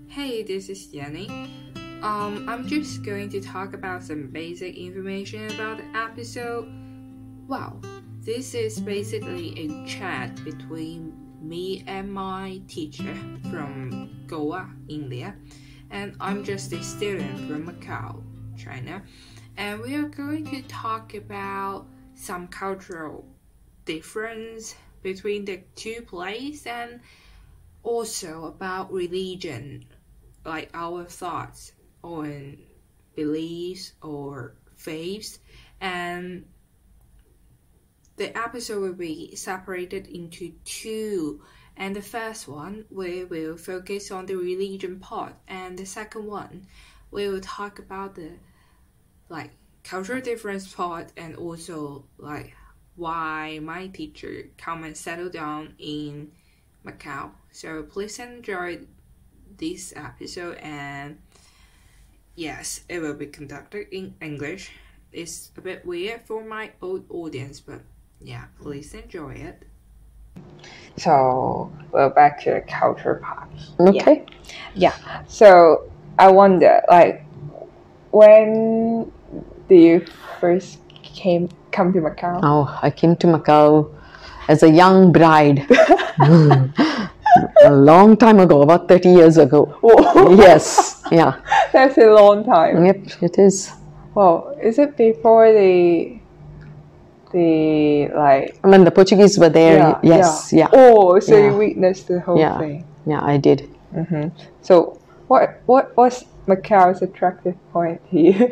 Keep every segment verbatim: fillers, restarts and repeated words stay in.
Hey, this is Jenny. Um, I'm just going to talk about some basic information about the episode. Wow, this is basically a chat between me and my teacher from Goa, India, and I'm just a student from Macau, China, and we are going to talk about some cultural difference between the two places and also about religion, like our thoughts on beliefs or faiths. And the episode will be separated into two, and the first one we will focus on the religion part, and the second one we will talk about the like cultural difference part, and also like why my teacher come and settle down in Macau. So please enjoy this episode, and yes, it will be conducted in English. It's a bit weird for my old audience, but yeah, please enjoy it. So we're back to the culture part. Okay. Yeah. yeah. So I wonder, like, when do you first came come to Macau? Oh, I came to Macau as a young bride. A long time ago, about thirty years ago. Whoa. Yes, yeah. That's a long time. Yep, it is. Well, is it before the the like When the Portuguese were there, yeah, yes, yeah. yeah. Oh, so yeah. you witnessed the whole yeah. thing. Yeah, I did. Mm-hmm. So what what was Macau's attractive point here?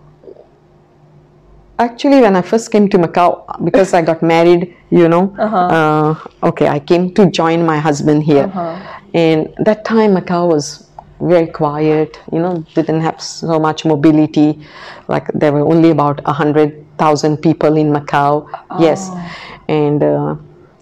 Actually, when I first came to Macau, because I got married, you know, uh-huh. uh, okay, I came to join my husband here. Uh-huh. And that time Macau was very quiet, you know, didn't have so much mobility. Like there were only about a hundred thousand people in Macau. Oh. Yes. And uh,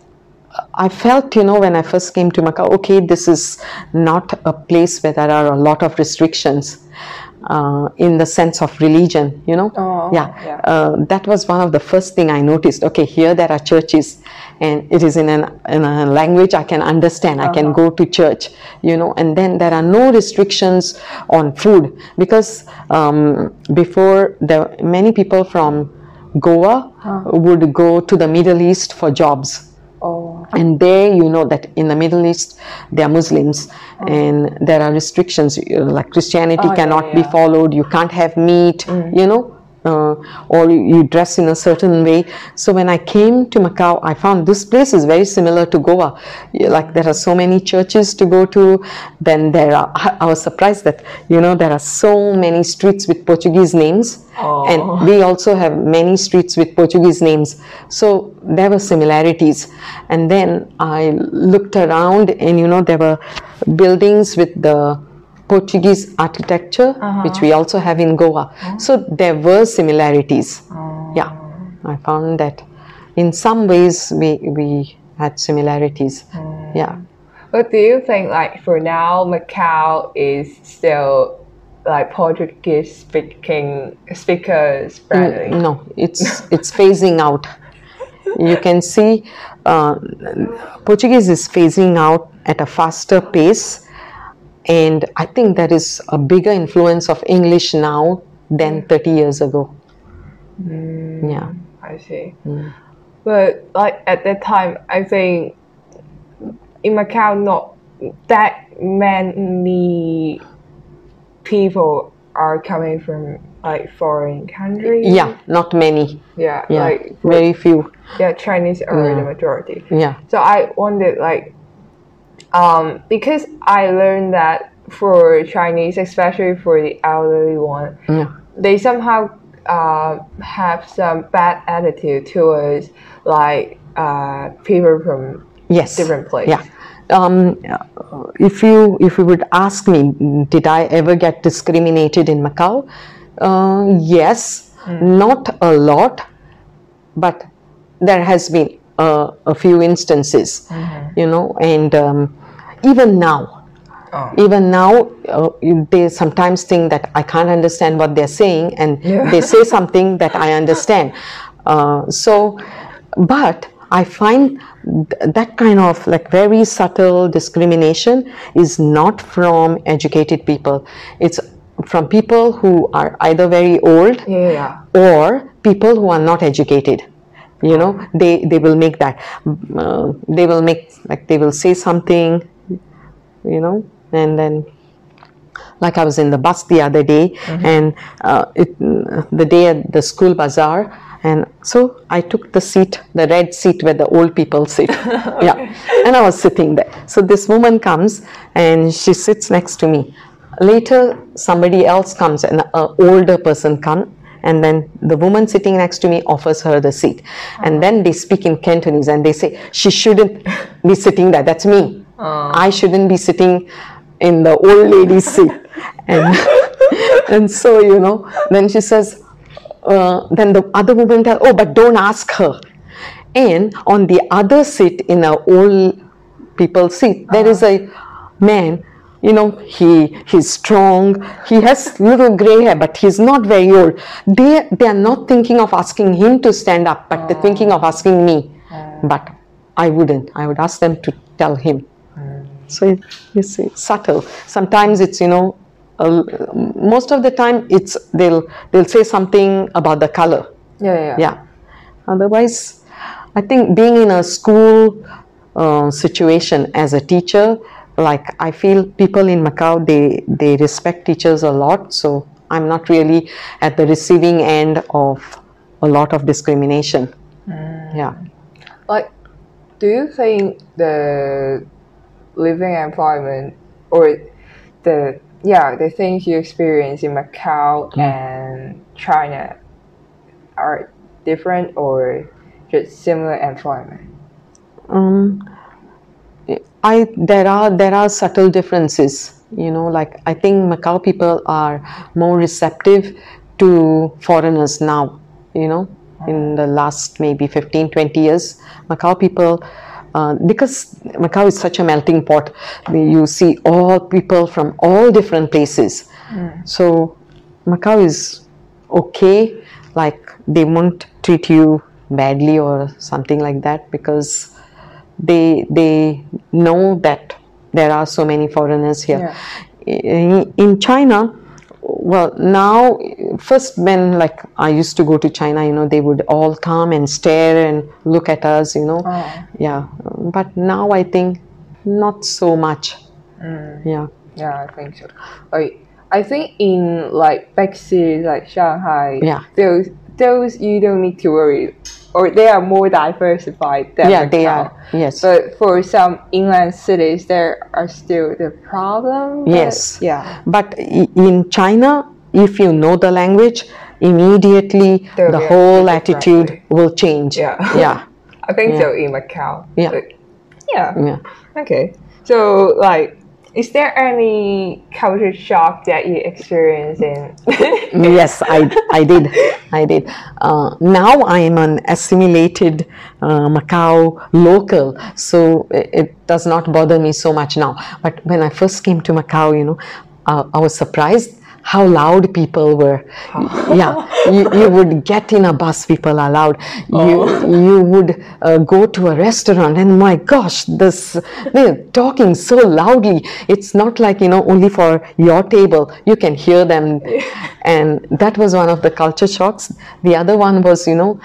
I felt, you know, when I first came to Macau, okay, this is not a place where there are a lot of restrictions. Uh, in the sense of religion, you know, oh, yeah, yeah. Uh, that was one of the first thing I noticed. Okay, here there are churches, and it is in, an, in a language I can understand. Uh-huh. I can go to church, you know, and then there are no restrictions on food, because um, before there many people from Goa uh-huh. would go to the Middle East for jobs. Oh. And there, you know that in the Middle East, they are Muslims, oh. and there are restrictions, like Christianity oh, cannot yeah, yeah. be followed, you can't have meat, mm. you know, uh, or you dress in a certain way. So when I came to Macau, I found this place is very similar to Goa. Like there are so many churches to go to, then there are, I was surprised that, you know, there are so many streets with Portuguese names. Oh. And we also have many streets with Portuguese names. So there were similarities. And then I looked around, and you know, there were buildings with the Portuguese architecture, uh-huh. which we also have in Goa. Uh-huh. So there were similarities. Uh-huh. Yeah, I found that in some ways we, we had similarities. Uh-huh. Yeah. But do you think, like, for now, Macau is still like Portuguese speaking speakers friendly? No, it's it's phasing out. You can see uh, Portuguese is phasing out at a faster pace, and I think there is a bigger influence of English now than thirty years ago. Mm, yeah, I see. Mm. But like at that time, I think in Macau not that many people are coming from like foreign countries. Yeah, not many. Yeah, yeah like very few. Yeah, Chinese are yeah. the majority. Yeah. So I wondered, like, um, because I learned that for Chinese, especially for the elderly one, yeah. they somehow uh, have some bad attitude towards like uh, people from yes. different places. Yeah. Um, if you if you would ask me, did I ever get discriminated in Macau? Uh, yes, mm. not a lot, but there has been uh, a few instances, mm-hmm. you know, and um, even now, oh. even now, uh, they sometimes think that I can't understand what they're saying, and yeah. they say something that I understand. Uh, so, but I find th- that kind of like very subtle discrimination is not from educated people. It's from people who are either very old Yeah. or people who are not educated. You know, they, they will make that, uh, they will make, like they will say something, you know, and then, like I was in the bus the other day, mm-hmm. and uh, it, the day at the school bazaar, and so I took the seat, the red seat where the old people sit. Okay. Yeah, and I was sitting there. So this woman comes and she sits next to me. Later, somebody else comes, an uh, older person comes, and then the woman sitting next to me offers her the seat. Uh-huh. And then they speak in Cantonese and they say, she shouldn't be sitting there. That's me. Uh-huh. I shouldn't be sitting in the old lady's seat. And, and so, you know, then she says, uh, then the other woman tells, oh, but don't ask her. And on the other seat, in an old people's seat, uh-huh. there is a man. You know, he he's strong, he has little gray hair, but he's not very old. They, they are not thinking of asking him to stand up, but oh. they're thinking of asking me. Oh. But I wouldn't. I would ask them to tell him. Mm. So, it, you see, subtle. Sometimes it's, you know, uh, most of the time it's they'll, they'll say something about the color. Yeah, yeah. Yeah. Otherwise, I think being in a school uh, situation as a teacher, like I feel people in Macau, they, they respect teachers a lot. So I'm not really at the receiving end of a lot of discrimination. Mm. Yeah. Like, do you think the living environment or the, yeah, the things you experience in Macau mm. and China are different or just similar environment? Um, I there are there are subtle differences, you know, like I think Macau people are more receptive to foreigners now, you know, in the last maybe fifteen, twenty years. Macau people, uh, because Macau is such a melting pot, you see all people from all different places. Mm. So Macau is okay, like they won't treat you badly or something like that, because they they know that there are so many foreigners here. Yeah. In, in China, well, now, first when like I used to go to China, you know, they would all come and stare and look at us, you know. Oh. Yeah, but now I think not so much. Mm. Yeah. Yeah, I think so. Like, I think in like big cities like Shanghai, yeah, those those you don't need to worry, or they are more diversified than yeah, Macau. they are. Yes. But for some inland cities, there are still the problem. Yes. Yeah. But in China, if you know the language, immediately There'll the whole attitude will change. Yeah. Yeah. I think yeah. so in Macau. Yeah. But, yeah. Yeah. Okay. So like, is there any culture shock that you experienced in? Yes, I, I did. I did. Uh, now I am an assimilated uh, Macau local, so it, it does not bother me so much now. But when I first came to Macau, you know, uh, I was surprised how loud people were. Yeah, you, you would get in a bus, people are loud. You, oh. you would uh, go to a restaurant and my gosh, this, they're talking so loudly. It's not like, you know, only for your table, you can hear them. And that was one of the culture shocks. The other one was, you know,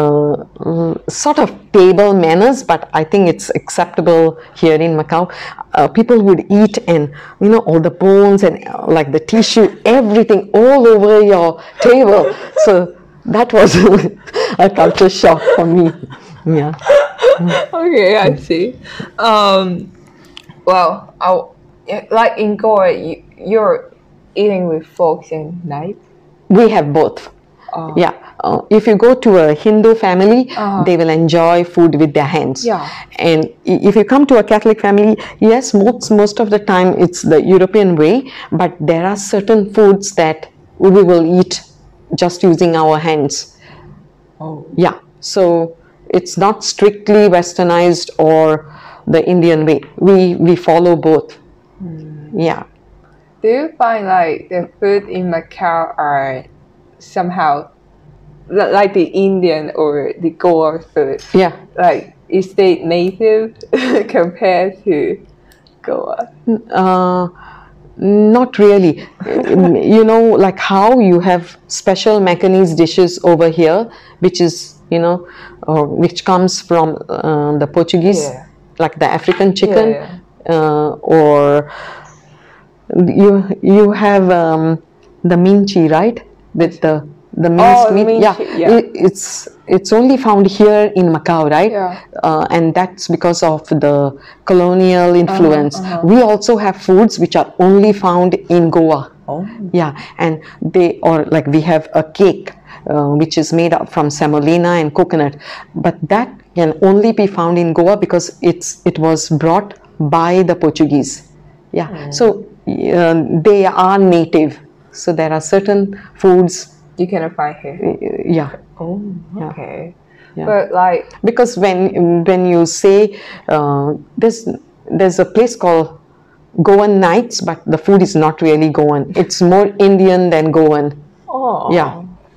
uh, sort of table manners, but I think it's acceptable here in Macau. Uh, people would eat and, you know, all the bones and uh, like the tissue, everything all over your table. So that was a culture shock for me. Yeah. Okay, I see. Um, well, I'll, like in Goa, you, you're eating with forks and knives? We have both. Uh, yeah. Uh, if you go to a Hindu family, uh-huh. they will enjoy food with their hands. Yeah. And if you come to a Catholic family, yes, most, most of the time it's the European way, but there are certain foods that we will eat just using our hands. Oh. Yeah. So it's not strictly westernized or the Indian way. We, we follow both. Mm. Yeah. Do you find like the food in Macau are somehow like the Indian or the Goa food? Yeah. Like state native compared to Goa? Uh, not really. You know, like how you have special Macanese dishes over here, which is, you know, uh, which comes from uh, the Portuguese, Yeah. like the African chicken, Yeah, Uh, or you you have um, the minchi, right? With the the minced Oh, meat. minchi, Yeah, yeah. It, it's it's only found here in Macau, right? Yeah. Uh, and that's because of the colonial influence. uh-huh. We also have foods which are only found in Goa. Oh. Yeah, and they, or like we have a cake uh, which is made up from semolina and coconut, but that can only be found in Goa because it's it was brought by the Portuguese. Yeah, Mm. so uh, they are native. So there are certain foods. You cannot find here. uh, Yeah, Oh, Yeah. okay. Yeah. But like, because when when you say uh, there's there's a place called Goan Nights, but the food is not really Goan. It's more Indian than Goan. oh, Yeah.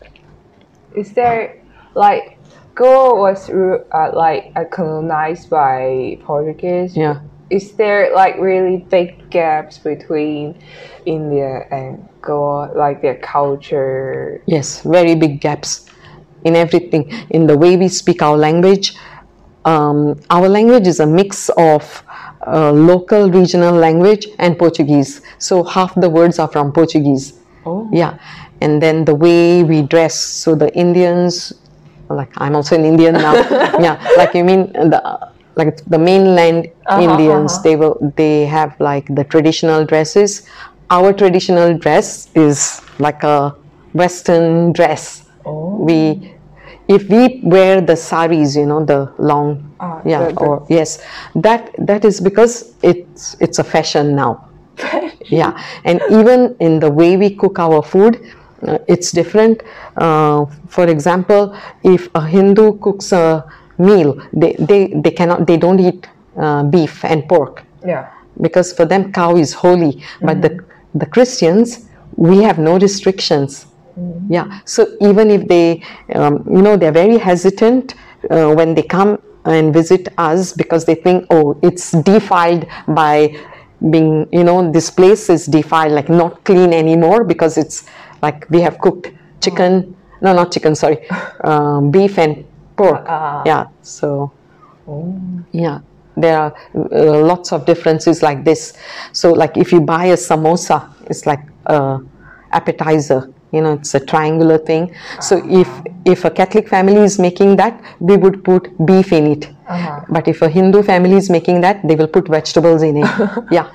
Is there like Goa was ru- uh, like uh, colonized by Portuguese? Yeah. Is there like really big gaps between India and Goa, like their culture? Yes, very big gaps in everything. In the way we speak our language, um, our language is a mix of uh, local regional language and Portuguese. So half the words are from Portuguese. Oh. Yeah, and then the way we dress. So the Indians, like I'm also an Indian now. Yeah, like you mean the like the mainland Uh-huh, Indians, uh-huh. they will they have like the traditional dresses. Our traditional dress is like a Western dress. Oh. We, if we wear the saris, you know, the long, Ah, yeah, the- the- or yes, that that is because it's it's a fashion now. Yeah, and even in the way we cook our food, uh, it's different. Uh, for example, if a Hindu cooks a meal, they they, they cannot they don't eat uh, beef and pork Yeah. because for them cow is holy. But the the Christians, we have no restrictions. Yeah, so even if they, um, you know, they're very hesitant uh, when they come and visit us because they think, oh, it's defiled by being, you know, this place is defiled, like not clean anymore because it's like we have cooked chicken, no, not chicken, sorry, um, beef and pork. Ah. Yeah, so Oh. yeah, there are uh, lots of differences like this. So like if you buy a samosa, it's like a appetizer, you know, it's a triangular thing. So if if a Catholic family is making that, we would put beef in it. Uh-huh. But if a Hindu family is making that, they will put vegetables in it. Yeah.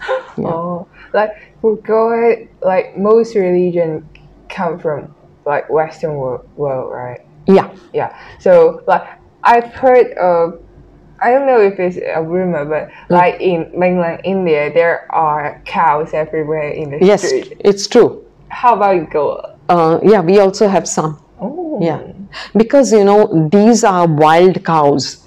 Oh, like for Goa, like most religion come from like Western world, world, right? Yeah. Yeah. So like I've heard of, I don't know if it's a rumor, but like in mainland India, there are cows everywhere in the Yes, street. it's true. How about in Goa? Uh, yeah, we also have some. Oh. Yeah, because you know these are wild cows.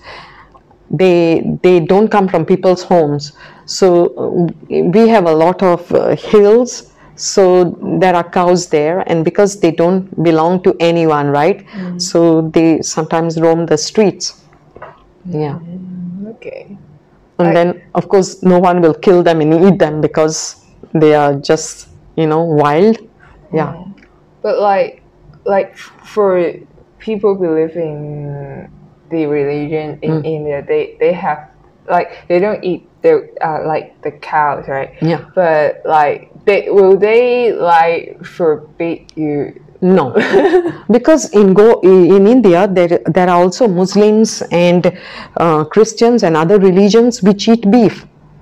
They they don't come from people's homes. So uh, we have a lot of uh, hills. So there are cows there, and because they don't belong to anyone, right? So they sometimes roam the streets. Yeah, Okay. and I- then of course no one will kill them and eat them because they are just, you know, wild. Yeah. But like, like for people believing the religion in India, they they have like they don't eat the uh, like the cows, right? Yeah. But like, they will they like forbid you? No, because in go in India there there are also Muslims and uh, Christians and other religions which eat beef.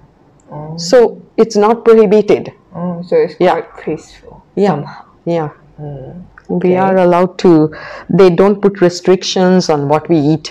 So it's not prohibited. Oh, so it's Yeah. quite peaceful. Yeah, somehow. yeah. We Okay. are allowed to. They don't put restrictions on what we eat.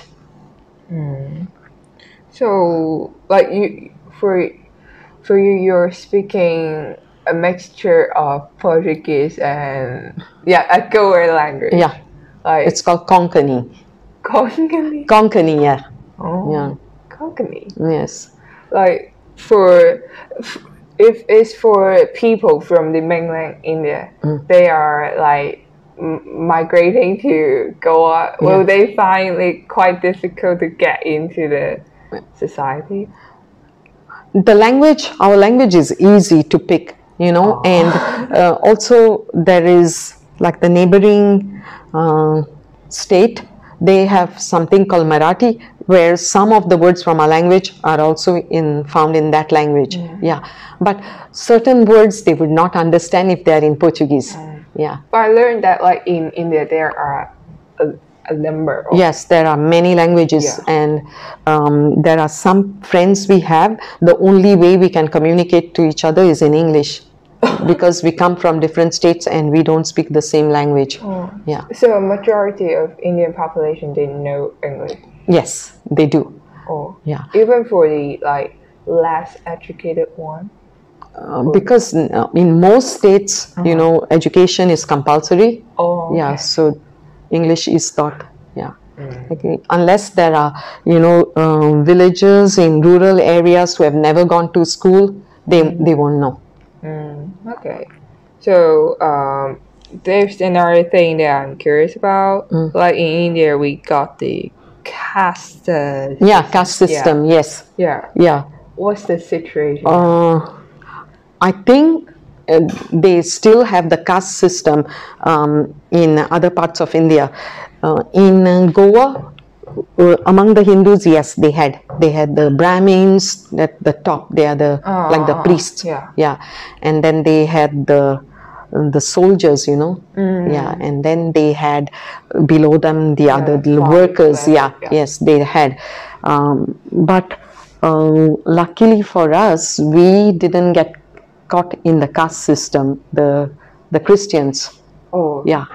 So like you for for you, you're speaking a mixture of Portuguese and yeah, a Goa language. Yeah, Like it's called Konkani. Konkani. Konkani, yeah, Oh, yeah, Konkani. yes. Like for if it's for people from the mainland India, they are like m- migrating to Goa, will Yeah. they find it quite difficult to get into the society? The language, our language is easy to pick, you know, and uh, also there is like the neighboring uh, state, they have something called Marathi, where some of the words from our language are also in found in that language. Yeah, but certain words they would not understand if they are in Portuguese. Yeah. But I learned that like in India there are a, a number of Yes, there are many languages, Yeah. and um, there are some friends we have. The only way we can communicate to each other is in English, because we come from different states and we don't speak the same language. Yeah. So a majority of Indian population didn't know English. Yes, they do. Oh, Yeah. even for the like less educated one. Uh, because uh, in most states, you know, education is compulsory. Oh, Yeah, okay. so English is taught. Yeah. Okay. Unless there are, you know, um, villagers in rural areas who have never gone to school, they they won't know. Okay. So um, there's another thing that I'm curious about. Like in India, we got the caste. Uh, Yeah, caste system. Yes. yeah. Yeah. What's the situation? Uh, I think uh, they still have the caste system um, in other parts of India. Uh, in uh, Goa, uh, among the Hindus, yes, they had they had the Brahmins at the top. They are the Ah, like the ah, ah, priests. yeah. yeah, and then they had the the soldiers, you know. Yeah, and then they had below them the other the farmers, workers. level, Yeah, yeah. yes, they had, um, but. Uh, luckily for us, we didn't get caught in the caste system, the the Christians. oh, Yeah.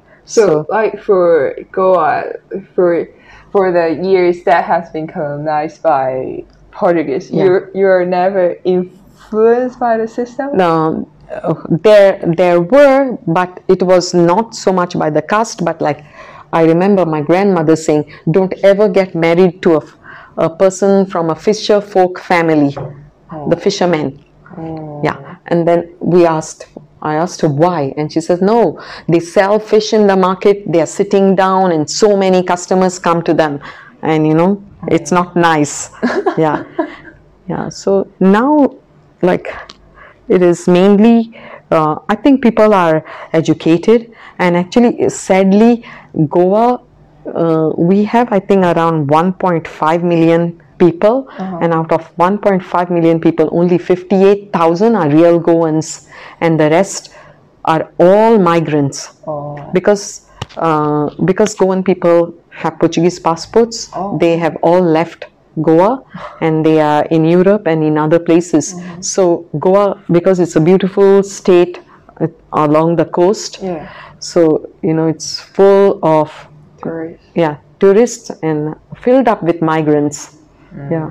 So, like for Goa, for for the years that has been colonized by Portuguese, Yeah. you're you're never influenced by the system. Um, uh, there there were, but it was not so much by the caste, but like I remember my grandmother saying, "Don't ever get married to a, f- a person from a fisher folk family, the fishermen." Yeah, and then we asked. I asked her why, and she says, "No, they sell fish in the market. They are sitting down, and so many customers come to them, and you know, it's not nice." Yeah, yeah. So now, like, it is mainly. Uh, I think people are educated, and actually, sadly, Goa, uh, we have I think around one point five million people, and out of one point five million people, only fifty-eight thousand are real Goans, and the rest are all migrants. Oh. Because uh, because Goan people have Portuguese passports, Oh. they have all left Goa, and they are in Europe and in other places. So Goa, because it's a beautiful state uh, along the coast, Yeah. so you know it's full of Tourists. yeah tourists and filled up with migrants. Yeah.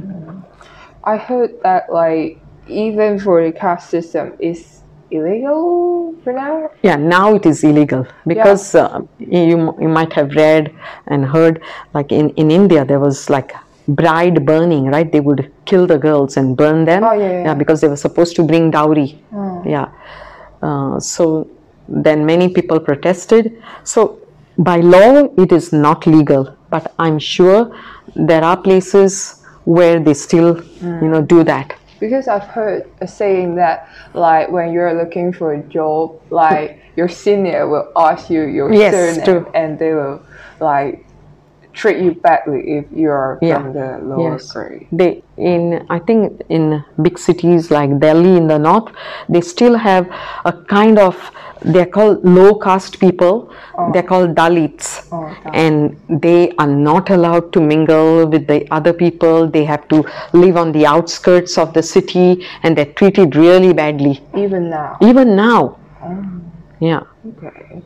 I heard that like even for the caste system is illegal for now. Yeah, now it is illegal because uh, you you might have read and heard like in, in India there was like bride burning, right? They would kill the girls and burn them. Oh, yeah, yeah, yeah. Because they were supposed to bring dowry. Yeah. Uh, so then many people protested. So by law it is not legal, but I'm sure there are places where they still you know do that. Because I've heard a saying that like when you're looking for a job, like your senior will ask you your Yes, surname true. and they will like treat you badly if you're Yeah. from the lower Yes. grade. They in I think in big cities like Delhi in the north, they still have a kind of they're called low caste people. They're called Dalits, Oh, Dalit. and they are not allowed to mingle with the other people. They have to live on the outskirts of the city, and they're treated really badly. Even now. Even now, yeah. Okay.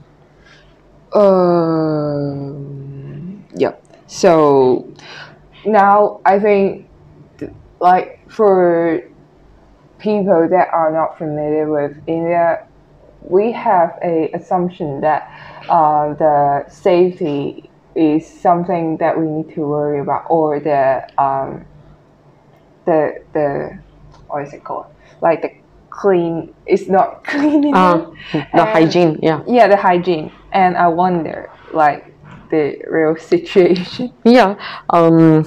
Um. Yeah. So now I think, th- like for people that are not familiar with India, we have a assumption that uh, the safety is something that we need to worry about, or the um, the the what is it called? Like the clean. It's not clean enough. Uh, the And- hygiene, yeah. Yeah, the hygiene. and I wonder, like, the real situation. Yeah. Um,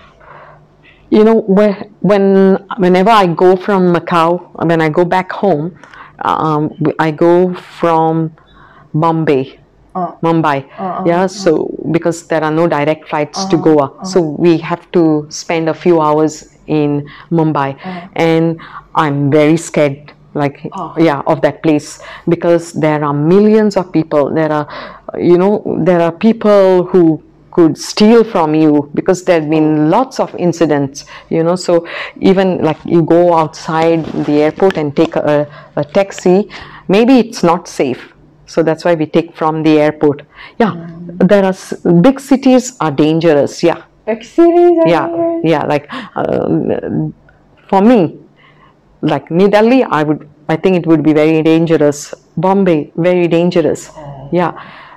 you know, where, when whenever I go from Macau, when I go back home, um, I go from Bombay. Uh, Mumbai, uh, yeah. uh, So because there are no direct flights uh, to Goa, uh, so we have to spend a few hours in Mumbai, uh, and I'm very scared, like Oh. yeah, of that place, because there are millions of people. There are, you know, there are people who could steal from you, because there have been lots of incidents, you know. So even like you go outside the airport and take a, a taxi, maybe it's not safe. So that's why we take from the airport. Yeah, mm. there are s- big cities are dangerous. Yeah, big cities are yeah, dangerous? yeah. Like um, for me, like New Delhi, I would, I think it would be very dangerous. Bombay, very dangerous. Oh. Yeah,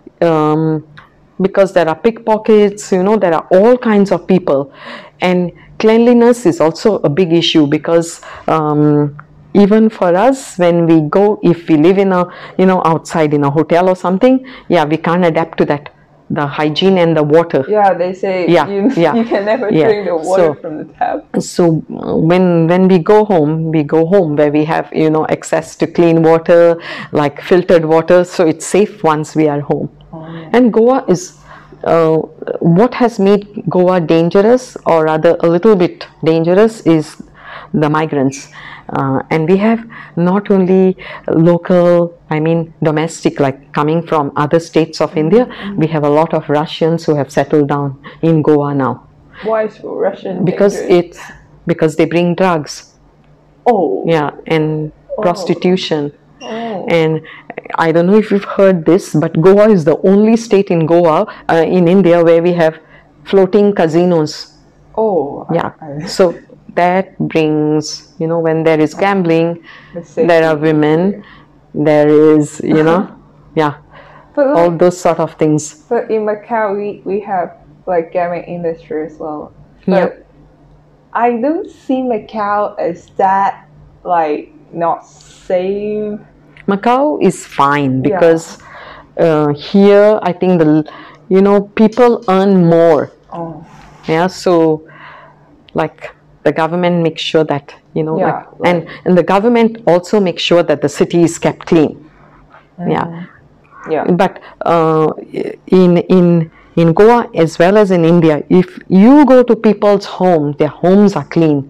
um, because there are pickpockets. You know, there are all kinds of people, and cleanliness is also a big issue, because. Um, Even for us, when we go, if we live in a, you know, outside in a hotel or something, yeah, we can't adapt to that, the hygiene and the water. Yeah, they say yeah, you, yeah, you can never yeah. drink the water so, from the tap. So when when we go home, we go home where we have, you know, access to clean water, like filtered water, so it's safe once we are home. Oh, yeah. And Goa is, uh, what has made Goa dangerous, or rather a little bit dangerous, is the migrants. Uh, and we have not only local, I mean domestic, like coming from other states of India, mm-hmm. we have a lot of Russians who have settled down in Goa now. Why is Russian Because dangerous? it's because they bring drugs. Oh. Yeah, and oh. prostitution. Oh. And I don't know if you've heard this, but Goa is the only state in Goa, uh, in India, where we have floating casinos. Oh. Yeah. I, I... So that brings, you know, when there is gambling, there are women, there is, you know, yeah, but like, all those sort of things. But in Macau, we, we have like gambling industry as well. But yep. I don't see Macau as that, like, not safe. Macau is fine, because yeah. uh, here I think the, you know, people earn more. Oh. Yeah, so like the government makes sure that, you know, yeah, like, right. and, and the government also makes sure that the city is kept clean. Mm. Yeah. Yeah. But uh, in in in Goa as well as in India, if you go to people's homes, their homes are clean.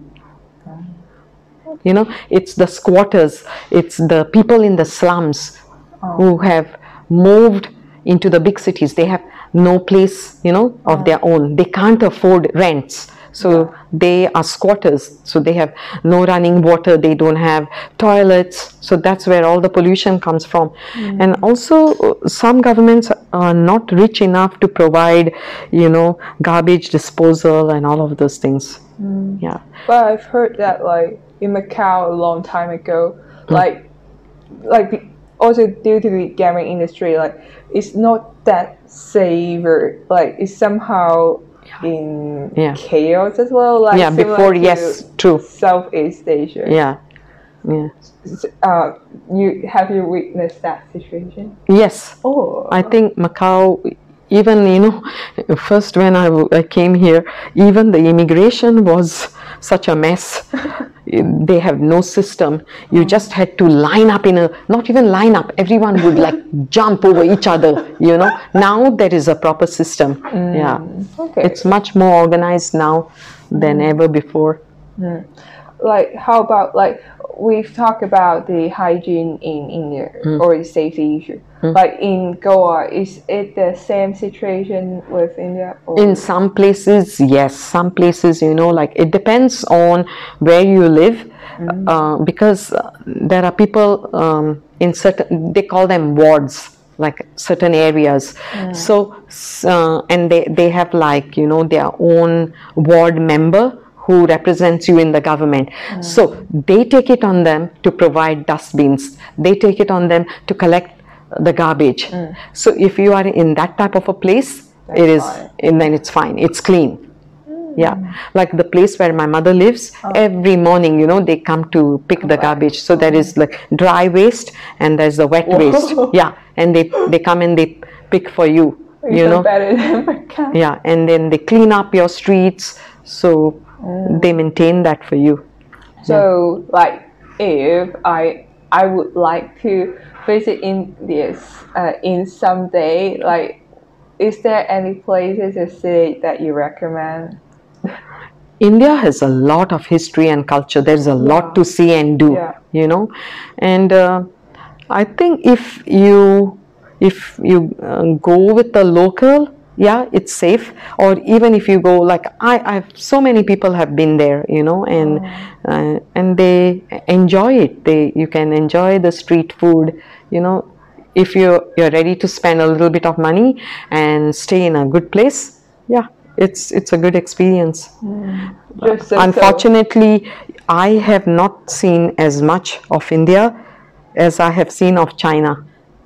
Mm. You know, it's the squatters, it's the people in the slums oh. who have moved into the big cities. They have no place, you know, of oh. their own. They can't afford rents. So yeah. they are squatters, so they have no running water, they don't have toilets, so that's where all the pollution comes from. Mm. And also some governments are not rich enough to provide, you know, garbage disposal and all of those things. Mm. Yeah. But I've heard that, like, in Macau a long time ago, mm. like, like also due to the gambling industry, like, it's not that safe, or like it's somehow in yeah. chaos as well, like yeah before yes true Southeast Asia. yeah yeah uh you have you witnessed that situation? Yes. Oh, I think Macau, even, you know, first when I, I came here, even the immigration was such a mess. They have no system. You just had to line up in a, not even line up, everyone would like jump over each other, you know. Now there is a proper system. Mm, yeah. Okay. It's much more organized now than mm. ever before. Mm. Like, how about, like, we've talked about the hygiene in India mm. or the safety issue. Mm. Like in Goa, is it the same situation with India? Or? In some places, yes. Some places, you know, like it depends on where you live, mm. uh, because there are people um, in certain, they call them wards, like certain areas. Mm. So, uh, and they, they have, like, you know, their own ward member who represents you in the government. Mm. So they take it on them to provide dustbins. They take it on them to collect the garbage. Mm. So if you are in that type of a place, That's it is, and then it's fine. It's clean. Mm. Yeah, like the place where my mother lives, Oh. every morning, you know, they come to pick the garbage. So there is like dry waste and there's the wet Whoa. waste. Yeah, and they they come and they pick for you. You Even know, better than Macau. yeah, and then they clean up your streets. So they maintain that for you. So, like, if I I would like to visit India uh, in some day, like, is there any places or city that you recommend? India has a lot of history and culture. There's a Yeah. lot to see and do, Yeah. you know. And uh, I think if you if you uh, go with the local, yeah, it's safe. Or even if you go, like I, I've so many people have been there, you know, and uh, and they enjoy it. They you can enjoy the street food, you know. If you're you're ready to spend a little bit of money and stay in a good place, yeah, it's it's a good experience. Just so- Unfortunately, I have not seen as much of India as I have seen of China.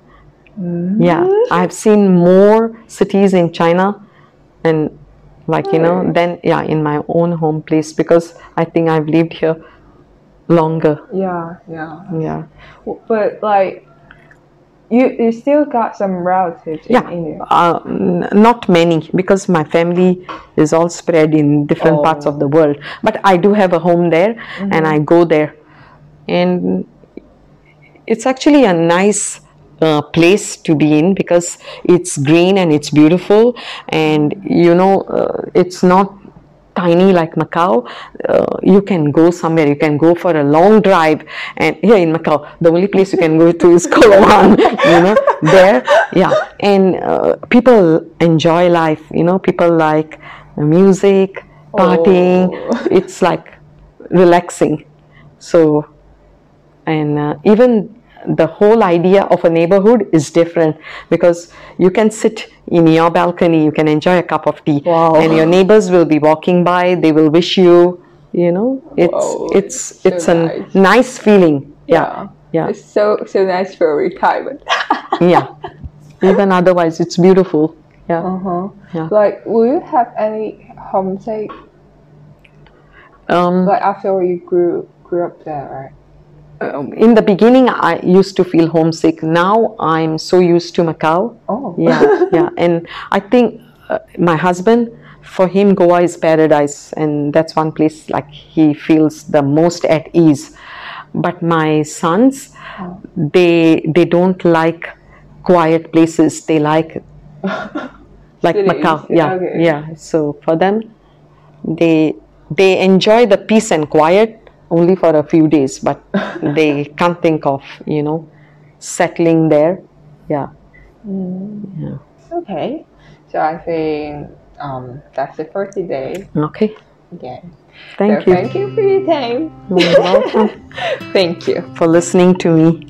Yeah, I have seen more cities in China, and like you know, than yeah in my own home place, because I think I've lived here longer. Yeah, yeah. Yeah, But like, you you still got some relatives in yeah, India. uh, n- not many, because my family is all spread in different parts of the world. But I do have a home there, and I go there, and it's actually a nice uh, place to be in, because it's green and it's beautiful, and you know uh, it's not tiny like Macau. Uh, you can go somewhere, you can go for a long drive, and here in Macau the only place you can go to is Koh Wan, you know, there. Yeah, and uh, people enjoy life, you know, people like music, partying. It's like relaxing. So, and uh, even the whole idea of a neighborhood is different, because you can sit in your balcony, you can enjoy a cup of tea, Wow. and your neighbors will be walking by, they will wish you, you know, it's Wow, it's so it's a nice. nice feeling. Yeah, yeah, It's so so nice for retirement. yeah. Even otherwise, it's beautiful. Yeah. Uh-huh. Yeah. Like, will you have any homesick? Um, Like after you grew grew up there, right? um, in the beginning, I used to feel homesick. Now I'm so used to Macau. Oh. Yeah, yeah, and I think uh, my husband, for him, Goa is paradise, and that's one place like he feels the most at ease. But my sons, they they don't like quiet places. They like like Cities, Macau. Yeah, okay. yeah. So for them, they they enjoy the peace and quiet only for a few days, but they can't think of, you know, settling there. Yeah. Yeah. Okay. So I think um that's it for today. Okay. Again. Thank so you. Thank you for your time. You're welcome Thank you. for listening to me.